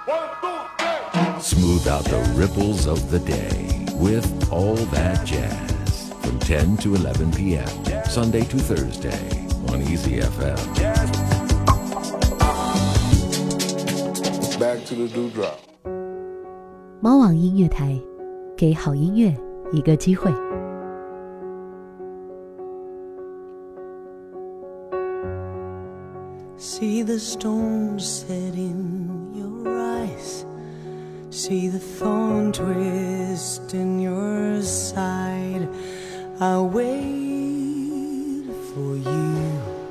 Smooth out the ripples of the day with All That Jazz from 10 to 11 p.m. Sunday to Thursday on Easy FM. Back to the dewdrop. 猫网音乐台，给好音乐一个机会。 See the storm set in your eyes, see the thorn twist in your side. I'll wait for you.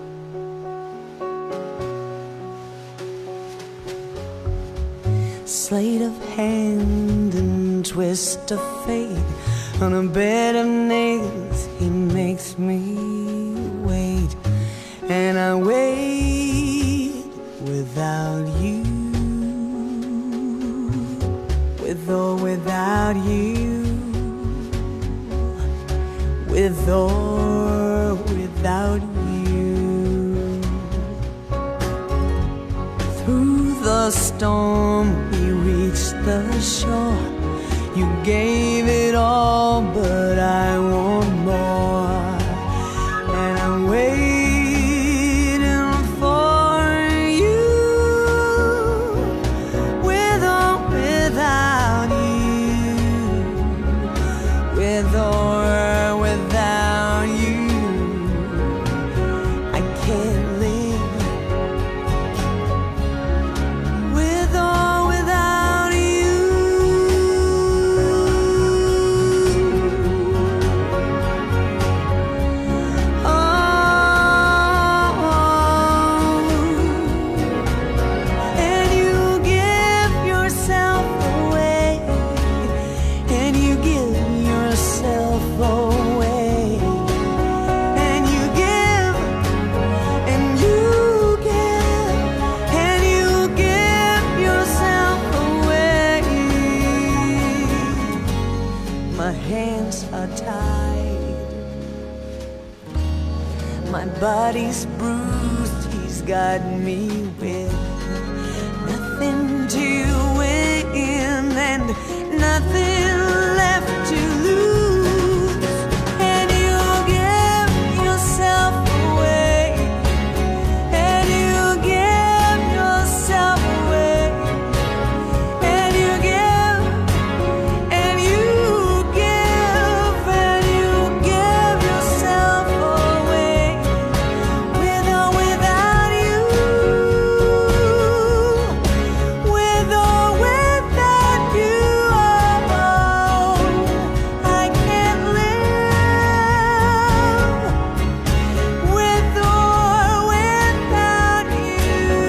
Sleight of hand and twist of fate, on a bed of nails he makes me wait, and I wait without you, with or without you, with or without you. Through the storm we reached the shore. You gave it all, but I want more, and I'm waiting for you, with or without you, with or without you. I can't live with or without you. And you give yourself away, and you give yourself away, and you give, and you give, and you give yourself away. My hands are tied, my body's bruised. He's got me with nothing to win and nothing left to lose. And you give yourself away, and you give yourself away, and you give, and you give, and you give yourself away, with or without you, with or without you. Oh, I can't live with or without you.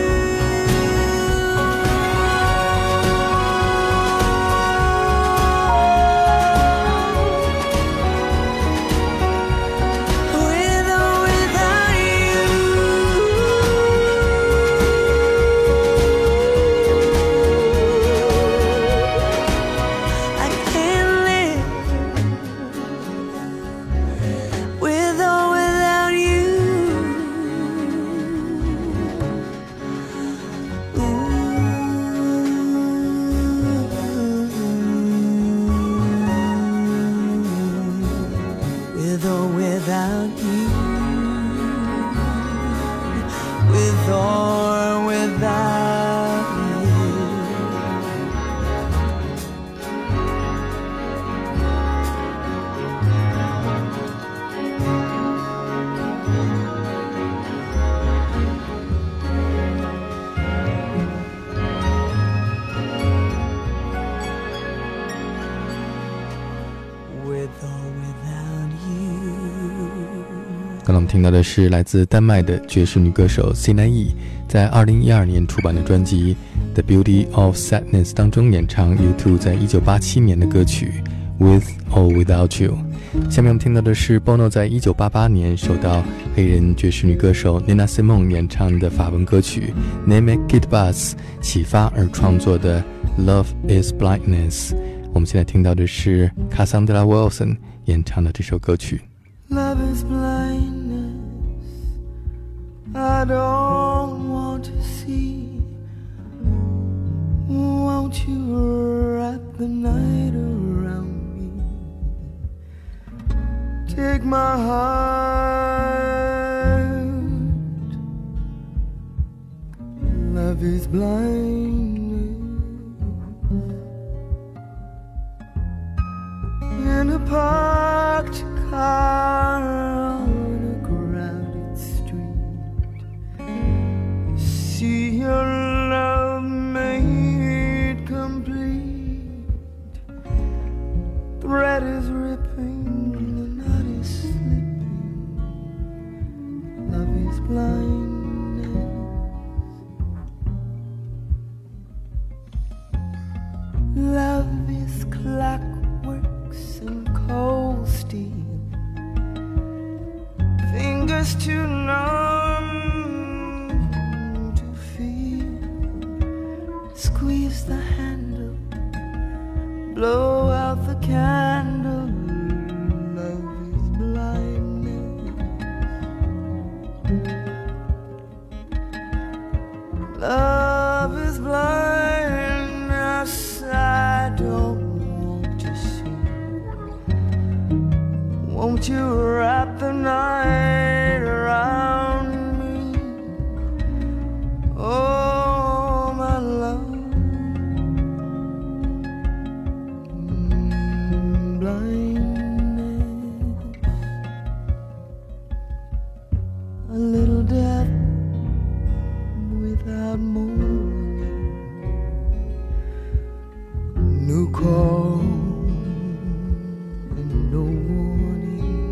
With or without you, I can't live with or without you. With or without you, with or without you. With or without you. 刚刚我们听到的是来自丹麦的爵士女歌手 Sina E 在2012年出版的专辑 The Beauty of Sadness 当中演唱 U2 在1987年的歌曲 With or Without You。 下面我们听到的是 Bono 在1988年受到黑人爵士女歌手 Nina Simone 演唱的法文歌曲 Name It Buzz 启发而创作的 Love is Blindness。 我们现在听到的是 Cassandra Wilson 演唱的这首歌曲。 Love is blindness, I don't want to see Won't you wrap the night around me? Take my heart. Love is blind. In a parked car on a crowded street, see your love made complete. Thread is ripping, the knot is slipping. Love is blindness. Love is clockworks and cold steel, fingers too numb to feel. Squeeze the handle, blow out the candle. Love is blindness. Love is blindness. I don't want to see. Won't you wrap the night around me? Oh, my love. Blindness. A little death without mourning. No call and no warning.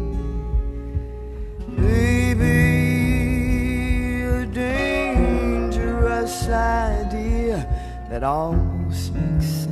Baby, a dangerous idea that almost makes sense.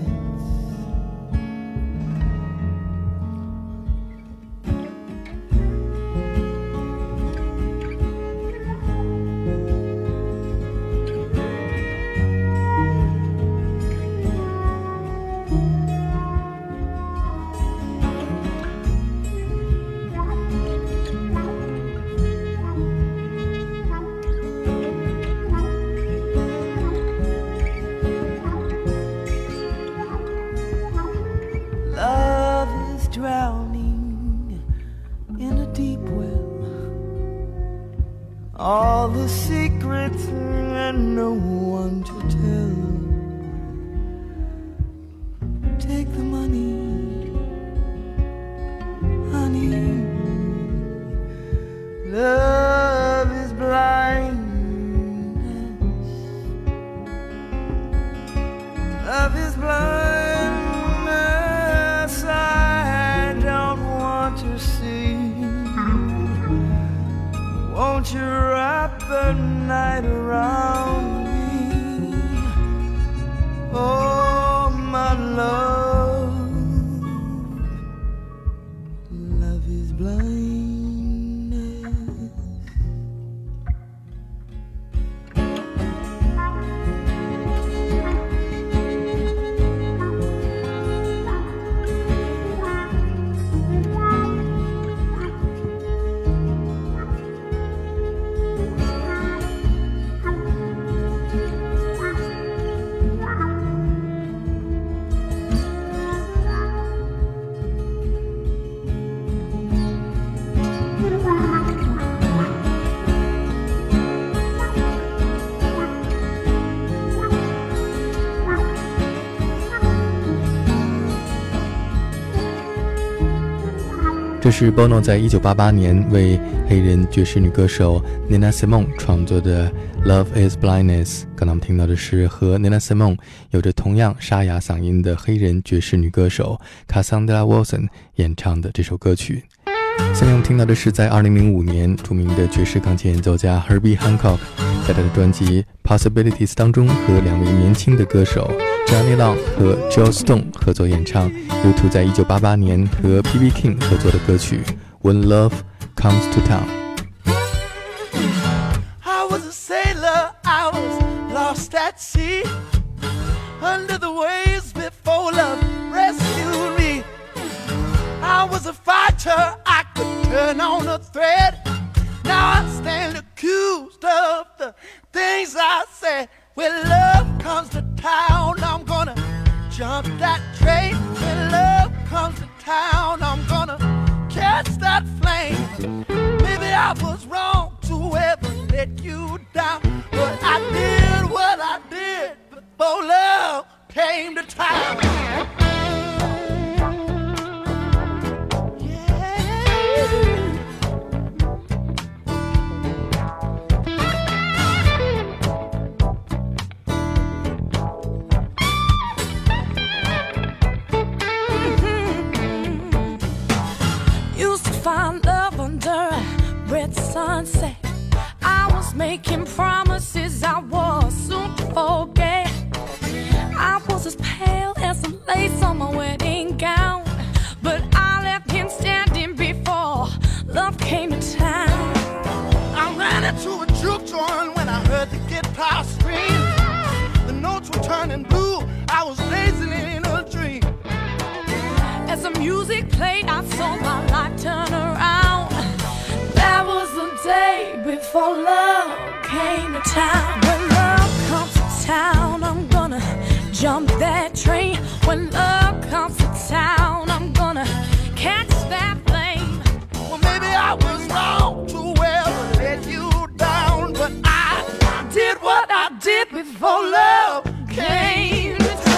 Drowning in a deep well, all the secrets and no one to tell. Take the money, honey. Love is blindness. Love is blindness. To see. Won't you wrap the night around me? Oh, my love. Love is blindness. 这是 Bono 在1988年为黑人爵士女歌手 Nina Simone 创作的 Love is Blindness。 刚才我们听到的是和 Nina Simone 有着同样沙哑嗓音的黑人爵士女歌手 Cassandra Wilson 演唱的这首歌曲。下面我们听到的是在2005年著名的爵士钢琴演奏家 Herbie Hancock 在他的专辑 Possibilities 当中和两位年轻的歌手 Johnny Long 和 Joe Stone 合作演唱 U2 在1988年和 B.B. King 合作的歌曲 When Love Comes to Town。 I was a sailor, I was lost at sea, under the waves before love rescued me. I was a fighter, I could turn on a thread. Now I stand accused of the things I said. When love comes to town, I'm gonna jump that train. When love comes to town, I'm gonna catch that flame. Maybe I was wrong to ever let you down, but I did what I did before love came to town. Find love under a red sunset. I was making promises I was soon to forget. I was as pale as the lace on my wedding gown, but I left him standing before love came to town. I ran into a juke joint when I heard the guitar scream. The notes were turning blue, I was lazily in a dream. As the music played, I saw my life turn around. That was the day before love came to town. When love comes to town, I'm gonna jump that train. When love comes to town, I'm gonna catch that flame. Well, maybe I was wrong to ever let you down, but I did what I did before love came to town.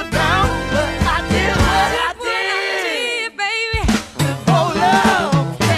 Came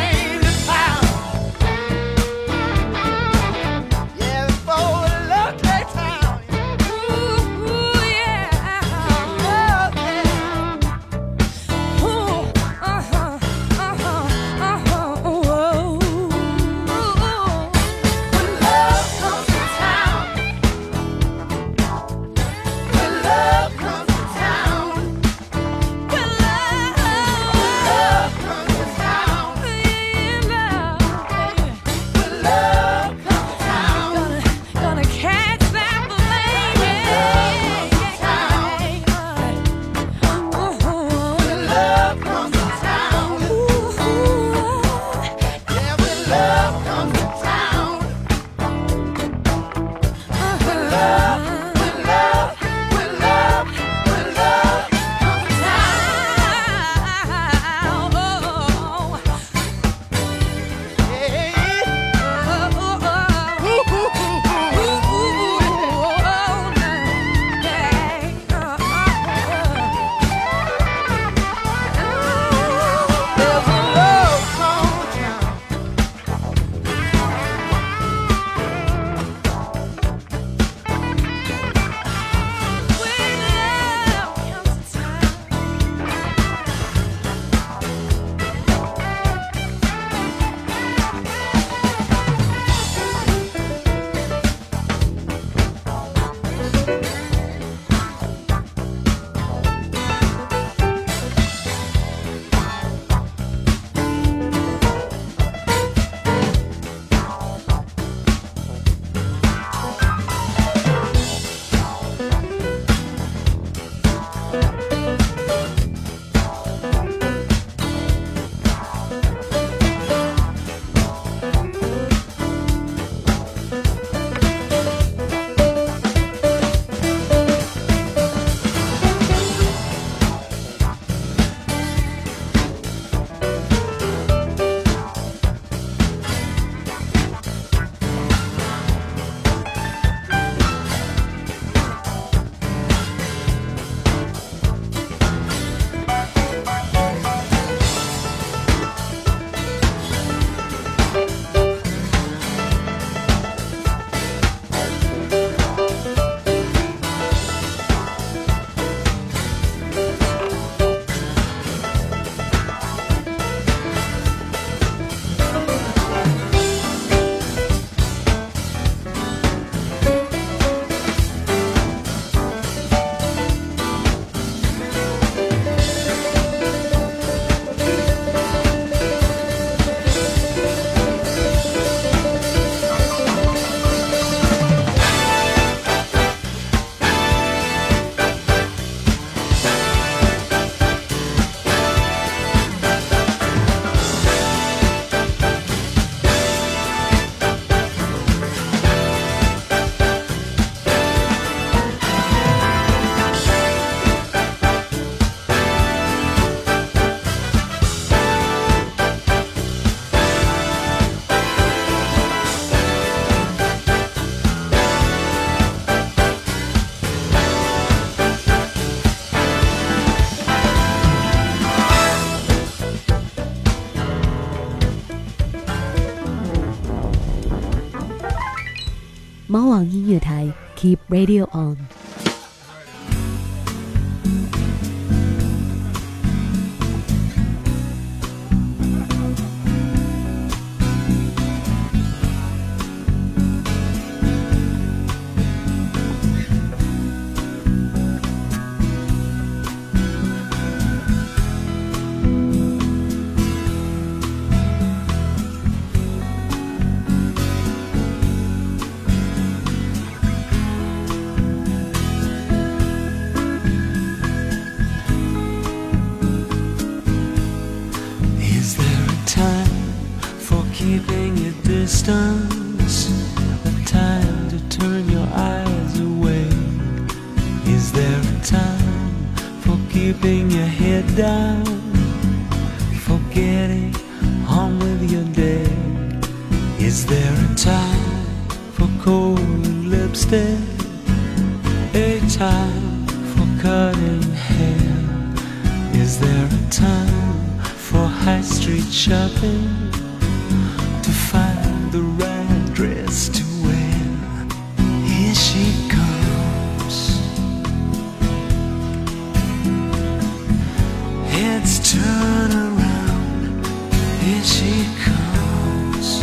猫王音乐台 Keep Radio On。 Keeping your distance, a time to turn your eyes away. Is there a time for keeping your head down, for getting on with your day? Is there a time for cold lipstick, a time for cutting hair? Is there a time for high street shopping, to find the right dress to wear? Here she comes, heads turn around. Here she comes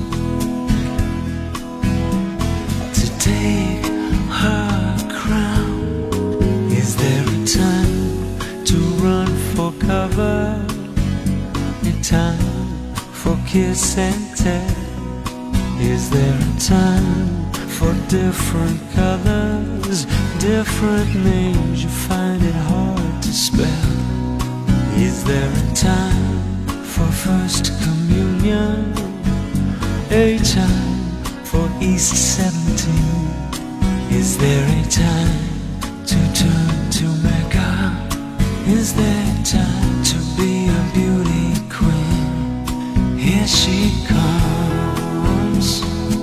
to take her crown. Is there a time to run for cover, a time for kiss and tell? Is there a time for different colors, different names you find it hard to spell? Is there a time for first communion, a time for East 17? Is there a time to turn to Mecca? Is there time to be a beauty queen? Here she comes,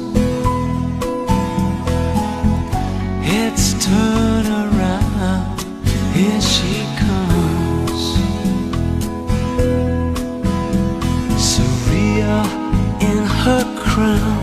heads turn around. Here she comes, Syria in her crown.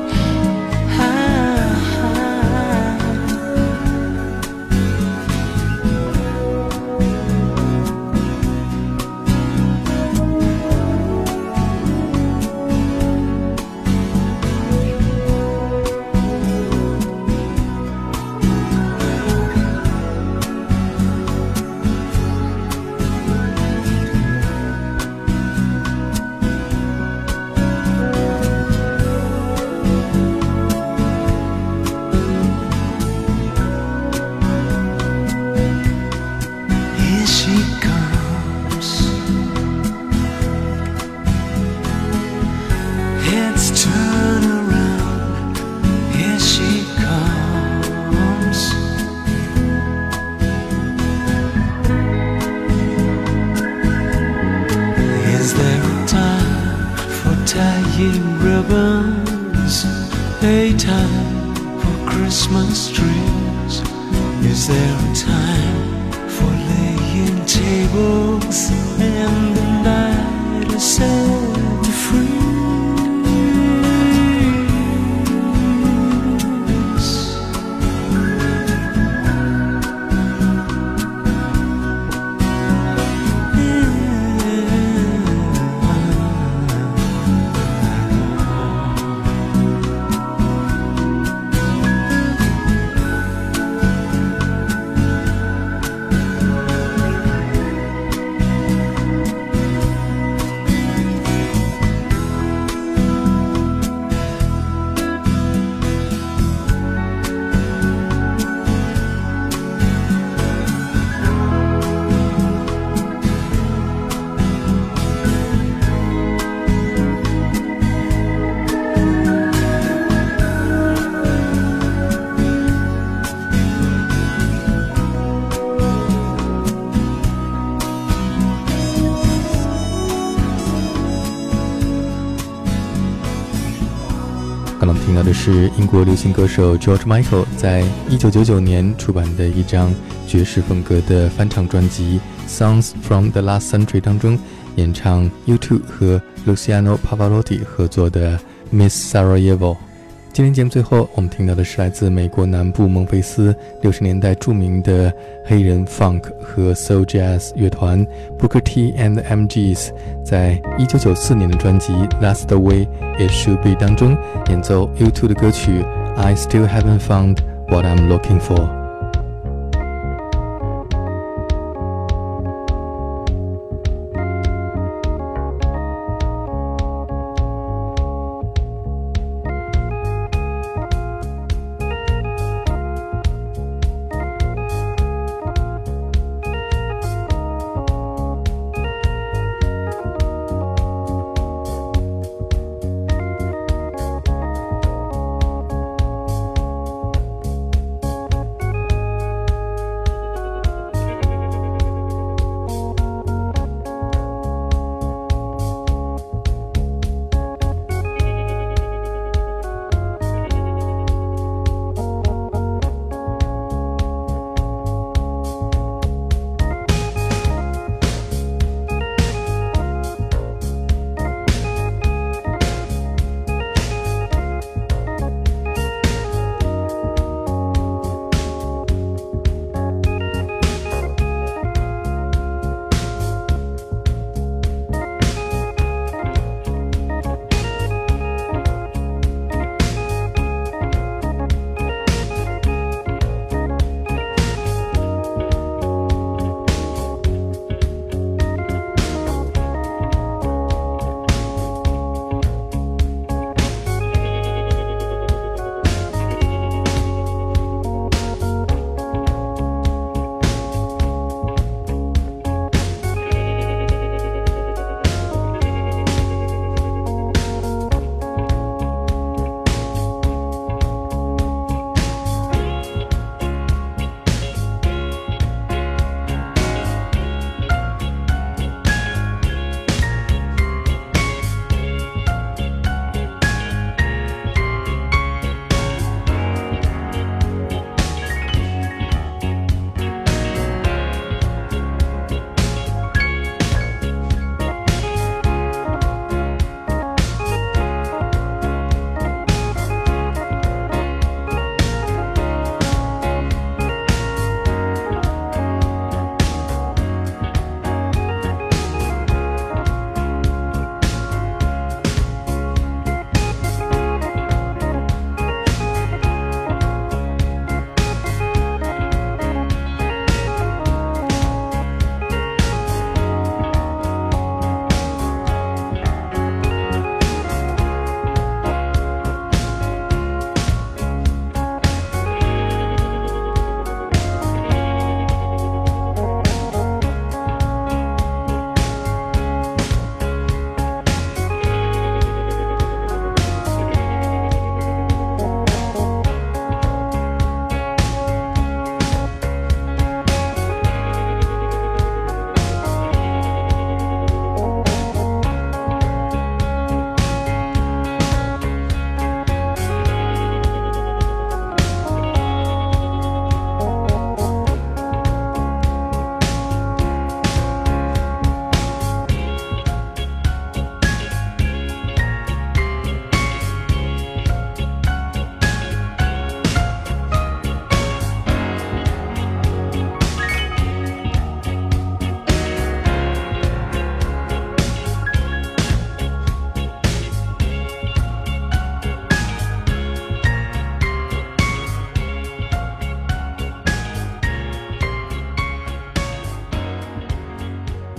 Ribbons, a time for Christmas trees. Is there a time for laying tables and the night is set to freeze? 刚刚听到的是英国流行歌手 George Michael 在1999年出版的一张爵士风格的翻唱专辑 Songs from the Last Century 当中演唱 U2 和 Luciano Pavarotti 合作的 Miss Sarajevo。 今天节目最后我们听到的是来自美国南部孟菲斯60年代著名的黑人 Funk 和 Soul Jazz 乐团 Booker T and the MGs 在1994年的专辑 That's the Way It Should Be 当中演奏 U2 的歌曲 I Still Haven't Found What I'm Looking For。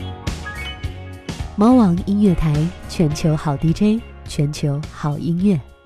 猫王音乐台，全球好 DJ， 全球好音乐。